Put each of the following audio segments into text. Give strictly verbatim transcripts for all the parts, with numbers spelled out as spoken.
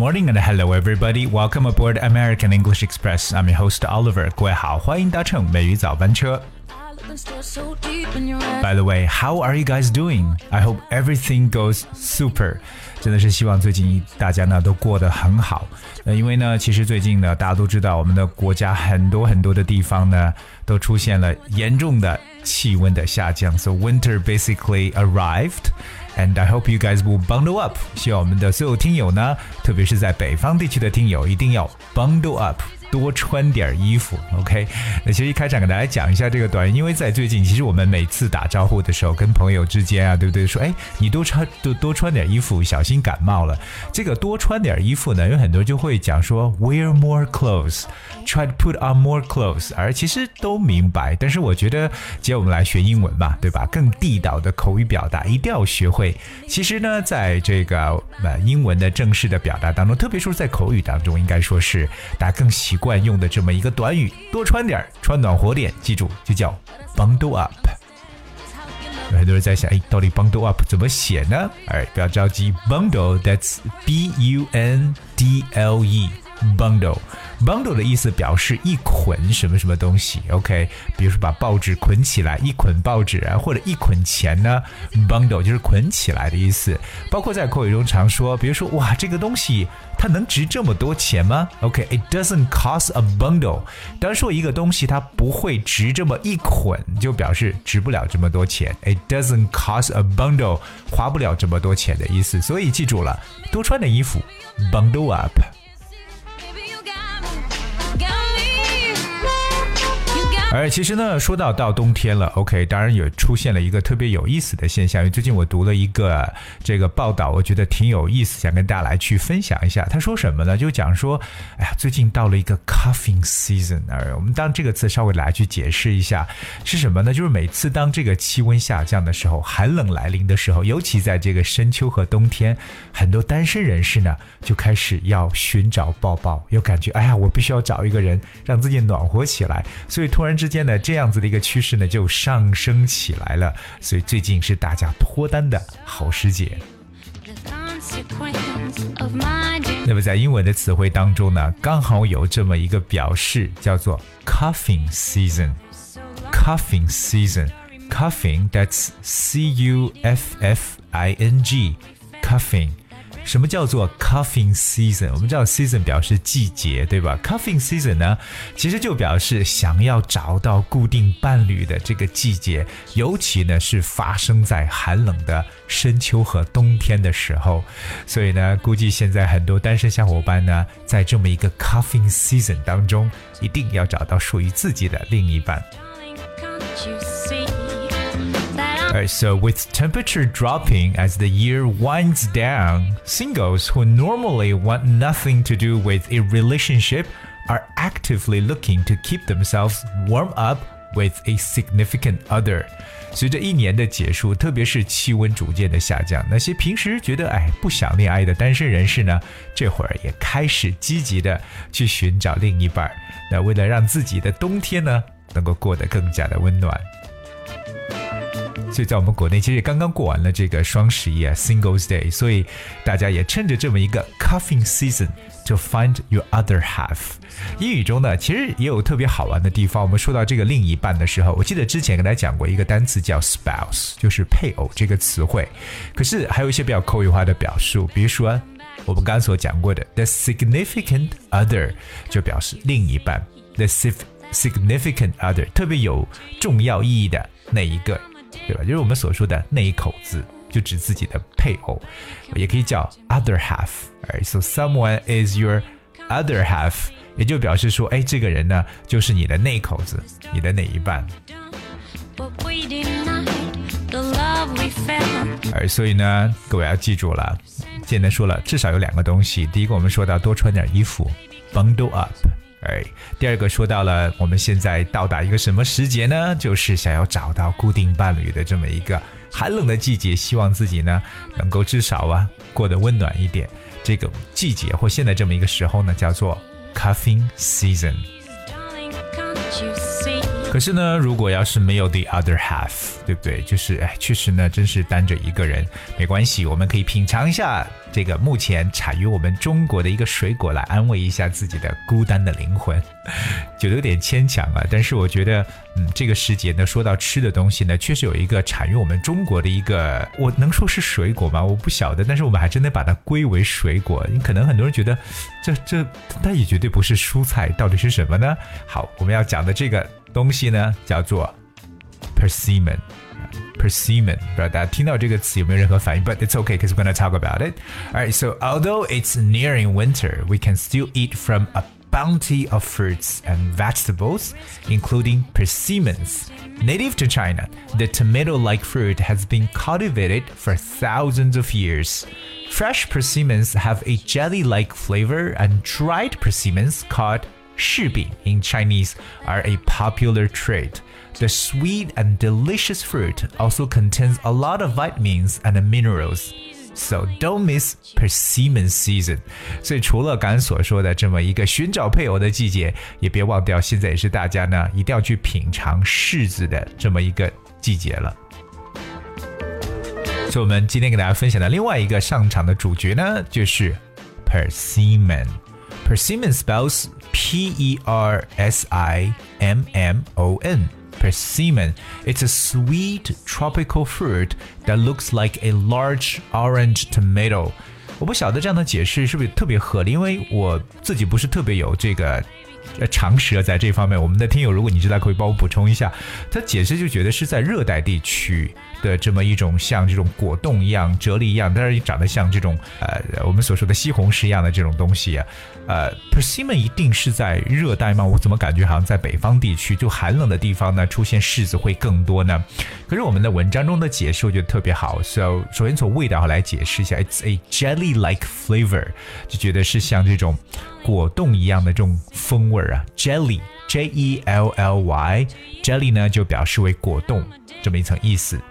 morning and hello everybody. Welcome aboard American English Express. I'm your host Oliver. 各位好，欢迎搭乘美语早班车。By the way, how are you guys doing? I hope everything goes super. 真的是希望最近大家呢都过得很好。呃，因为呢，其实最近呢，大家都知道我们的国家很多很多的地方呢都出现了严重的气温的下降。So winter basically arrived.And I hope you guys will bundle up. 希望我们的所有听友呢，特别是在北方地区的听友，一定要 bundle up， 多穿点衣服 OK。 那其实一开场给大家讲一下这个短语，因为在最近其实我们每次打招呼的时候跟朋友之间啊，对不对，说哎你多穿多多穿点衣服，小心感冒了。这个多穿点衣服呢，有很多就会讲说 wear more clothes， try to put on more clothes， 而其实都明白，但是我觉得既然我们来学英文嘛，对吧，更地道的口语表达一定要学会。其实呢，在这个呃英文的正式的表达当中，特别是在口语当中，应该说是大家更习惯用的这么一个短语，多穿点，穿暖和点，记住就叫 bundle up。有很多人在想，哎，到底 bundle up 怎么写呢？哎，不要着急 ，bundle that's B U N D L E。Bundle，bundle 的意思表示一捆什么什么东西 ，OK， 比如说把报纸捆起来，一捆报纸啊，或者一捆钱呢 ，bundle 就是捆起来的意思。包括在口语中常说，比如说哇，这个东西它能值这么多钱吗 ？OK，it doesn't cost a bundle。当说一个东西它不会值这么一捆，就表示值不了这么多钱。It doesn't cost a bundle， 花不了这么多钱的意思。所以记住了，多穿点衣服 ，bundle up。而其实呢，说到到冬天了 ，OK， 当然也出现了一个特别有意思的现象。因为最近我读了一个这个报道，我觉得挺有意思，想跟大家来去分享一下。他说什么呢？就讲说，哎呀，最近到了一个 coughing season， 而我们当这个词稍微来去解释一下是什么呢？就是每次当这个气温下降的时候，寒冷来临的时候，尤其在这个深秋和冬天，很多单身人士呢就开始要寻找抱抱，有感觉，哎呀，我必须要找一个人让自己暖和起来，所以突然之间呢，这样子的一个趋势呢就上升起来了，所以最近是大家脱单的好时节。那么在英文的词汇当中呢，刚好有这么一个表示，叫做 coughing season。coughing season，coughing that's C U F F I N G，coughing。什么叫做 coughing season？ 我们知道 season 表示季节，对吧？ coughing season 呢，其实就表示想要找到固定伴侣的这个季节，尤其呢是发生在寒冷的深秋和冬天的时候。所以呢，估计现在很多单身小伙伴呢，在这么一个 coughing season 当中，一定要找到属于自己的另一半。Alright, so with temperature dropping as the year winds down, singles who normally want nothing to do with a relationship are actively looking to keep themselves warm up with a significant other. 随着一年的结束，特别是气温逐渐的下降，那些平时觉得哎不想恋爱的单身人士呢，这会儿也开始积极的去寻找另一半。那为了让自己的冬天呢能够过得更加的温暖。所以在我们国内其实刚刚过完了这个双十一啊 Singles Day， 所以大家也趁着这么一个 coughing season to find your other half。 英语中呢其实也有特别好玩的地方。我们说到这个另一半的时候，我记得之前跟大家讲过一个单词叫 spouse， 就是配偶这个词汇。可是还有一些比较口语化的表述，比如说我们刚刚所讲过的 the significant other， 就表示另一半， the significant other 特别有重要意义的那一个，对吧？就是我们所说的那一口子，就指自己的配偶，也可以叫 other half。 So someone is your other half， 也就表示说，哎，这个人呢，就是你的那口子，你的那一半。而所以呢，各位要记住了，现在说了，至少有两个东西。第一个，我们说到多穿点衣服 ，bundle up。哎，第二个说到了，我们现在到达一个什么时节呢？就是想要找到固定伴侣的这么一个寒冷的季节，希望自己呢能够至少啊过得温暖一点。这个季节或现在这么一个时候呢，叫做 coughing season。 可是呢，如果要是没有 the other half， 对不对？就是哎，确实呢，真是单着一个人没关系，我们可以品尝一下这个目前产于我们中国的一个水果，来安慰一下自己的孤单的灵魂。觉得有点牵强啊，但是我觉得，嗯，这个世界呢，说到吃的东西呢，确实有一个产于我们中国的一个，我能说是水果吗？我不晓得，但是我们还真的把它归为水果。可能很多人觉得，这这，但也绝对不是蔬菜，到底是什么呢？好，我们要讲的这个东西呢，叫做 persimmon。persimmon， 不知道大家听到这个词有没有任何反应 ？But it's okay because we're going to talk about it. Alright, so although it's nearing winter, we can still eat from a bounty of fruits and vegetables, including persimmons. Native to China, the tomato-like fruit has been cultivated for thousands of years. Fresh persimmons have a jelly-like flavor, and dried persimmons, called 柿饼 in Chinese, are a popular trait.The sweet and delicious fruit also contains a lot of vitamins and minerals, so don't miss persimmon season. 所以除了刚才所说的这么一个寻找配偶的季节，也别忘掉现在也是大家呢一定要去品尝柿子的这么一个季节了。所以我们今天给大家分享的另外一个上场的主角呢，就是 persimmon。Persimmon spells P E R S I M M O N.Persimmon. It's a sweet tropical fruit that looks like a large orange tomato. 我不晓得这样的解释是不是特别合理，因为我自己不是特别有这个常识在这方面。我们的听友，如果你知道，可以帮我补充一下。他解释就觉得是在热带地区的这么一种像这种果冻一样、啫喱一样，但是长得像这种呃我们所说的西红柿一样的这种东西啊。呃 ，persimmon 一定是在热带吗？我怎么感觉好像在北方地区，就寒冷的地方呢，出现柿子会更多呢？可是我们的文章中的解释我觉得特别好。So 首先从味道来解释一下 ，it's a jelly-like flavor， 就觉得是像这种果冻一样的这种风味啊 ，jelly J E L L Y，jelly 呢就表示为果冻这么一层意思。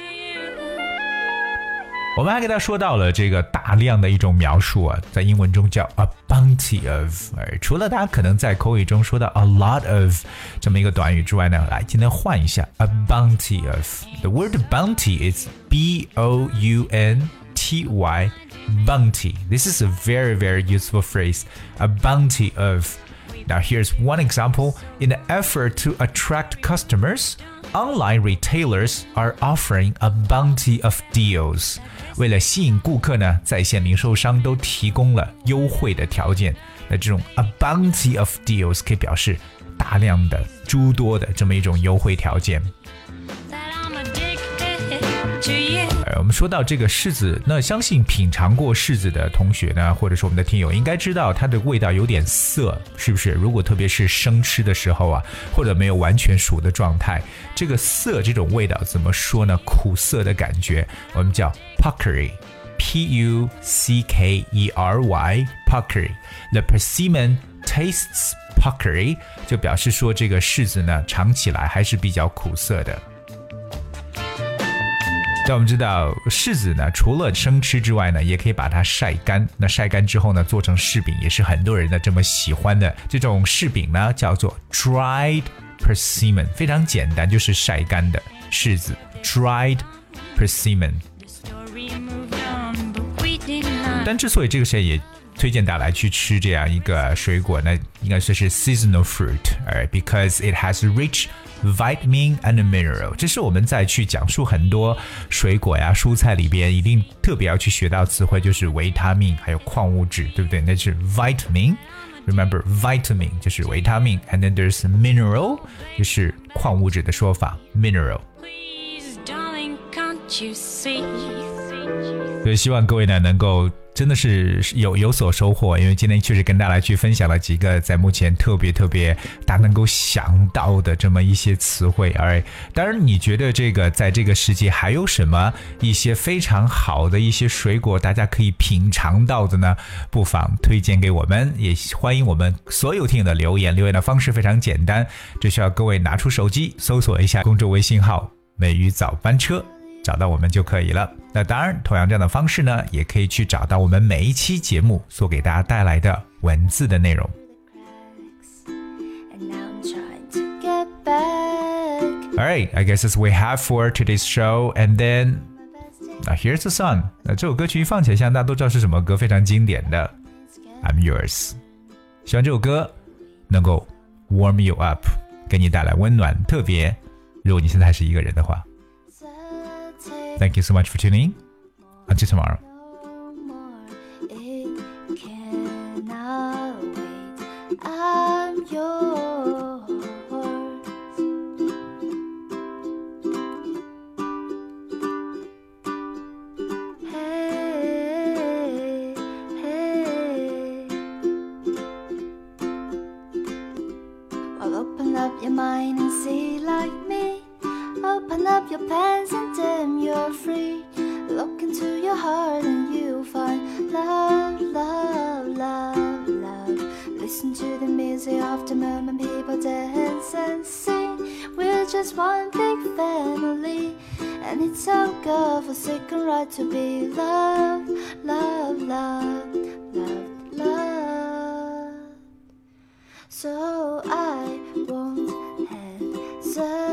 我们还给他说到了这个大量的一种描述啊，在英文中叫 a bounty of。除了大家可能在口语中说到 a lot of 这么一个短语之外呢，来今天换一下 a bounty of。The word bounty is B O U N T Y bounty. This is a very very useful phrase. A bounty of. Now here's one example. In an effort to attract customers,Online retailers are offering a bounty of deals. 为了吸引顾客呢，在线零售商都提供了优惠的条件。那这种 a bounty of deals 可以表示大量的、诸多的这么一种优惠条件。我们说到这个柿子，那相信品尝过柿子的同学呢，或者说我们的听友应该知道它的味道有点涩，是不是？如果特别是生吃的时候啊，或者没有完全熟的状态，这个涩这种味道怎么说呢？苦涩的感觉，我们叫 puckery。P U C K E R Y puckery. The persimmon tastes puckery 就表示说这个柿子呢尝起来还是比较苦涩的。那我们知道柿子呢除了生吃之外呢也可以把它晒干，那晒干之后呢做成柿饼也是很多人的这么喜欢的。这种柿饼呢叫做 dried persimmon， 非常简单，就是晒干的柿子 dried persimmon。但之所以这个时候也推荐大家来去吃这样一个水果呢，应该说是 seasonal fruit， because it has rich vitamin and mineral。 这是我们在去讲述很多水果呀蔬菜里边一定特别要去学到词汇，就是维他命还有矿物质，对不对？那是 vitamin， remember vitamin 就是维他命， and then there's mineral 就是矿物质的说法 mineral。 所以希望各位呢能够真的是有有所收获，因为今天确实跟大家去分享了几个在目前特别特别大家能够想到的这么一些词汇。而当然你觉得这个在这个世界还有什么一些非常好的一些水果大家可以品尝到的呢？不妨推荐给我们，也欢迎我们所有听友的留言。留言的方式非常简单，只需要各位拿出手机搜索一下公众微信号美语早班车，找到我们就可以了。那当然同样这样的方式呢也可以去找到我们每一期节目所给大家带来的文字的内容。 Alright, I guess that's what we have for today's show. And then, now here's the song. 那这首歌曲一放起来，相信大家都知道是什么歌，非常经典的 I'm Yours。希望这首歌能够 warm you up， 给你带来温暖。特别如果你现在还是一个人的话。Thank you so much for tuning in. Until tomorrow. I'm yours. Hey, hey. Well, open up your mind and see like me. Open up your pants and then you're free. Look into your heart and you'll find love, love, love, love. Listen to the music of the moment people dance and sing. We're just one big family, and it's our God-forsaken right to be loved, love, love, love, love. So I won't hesitate.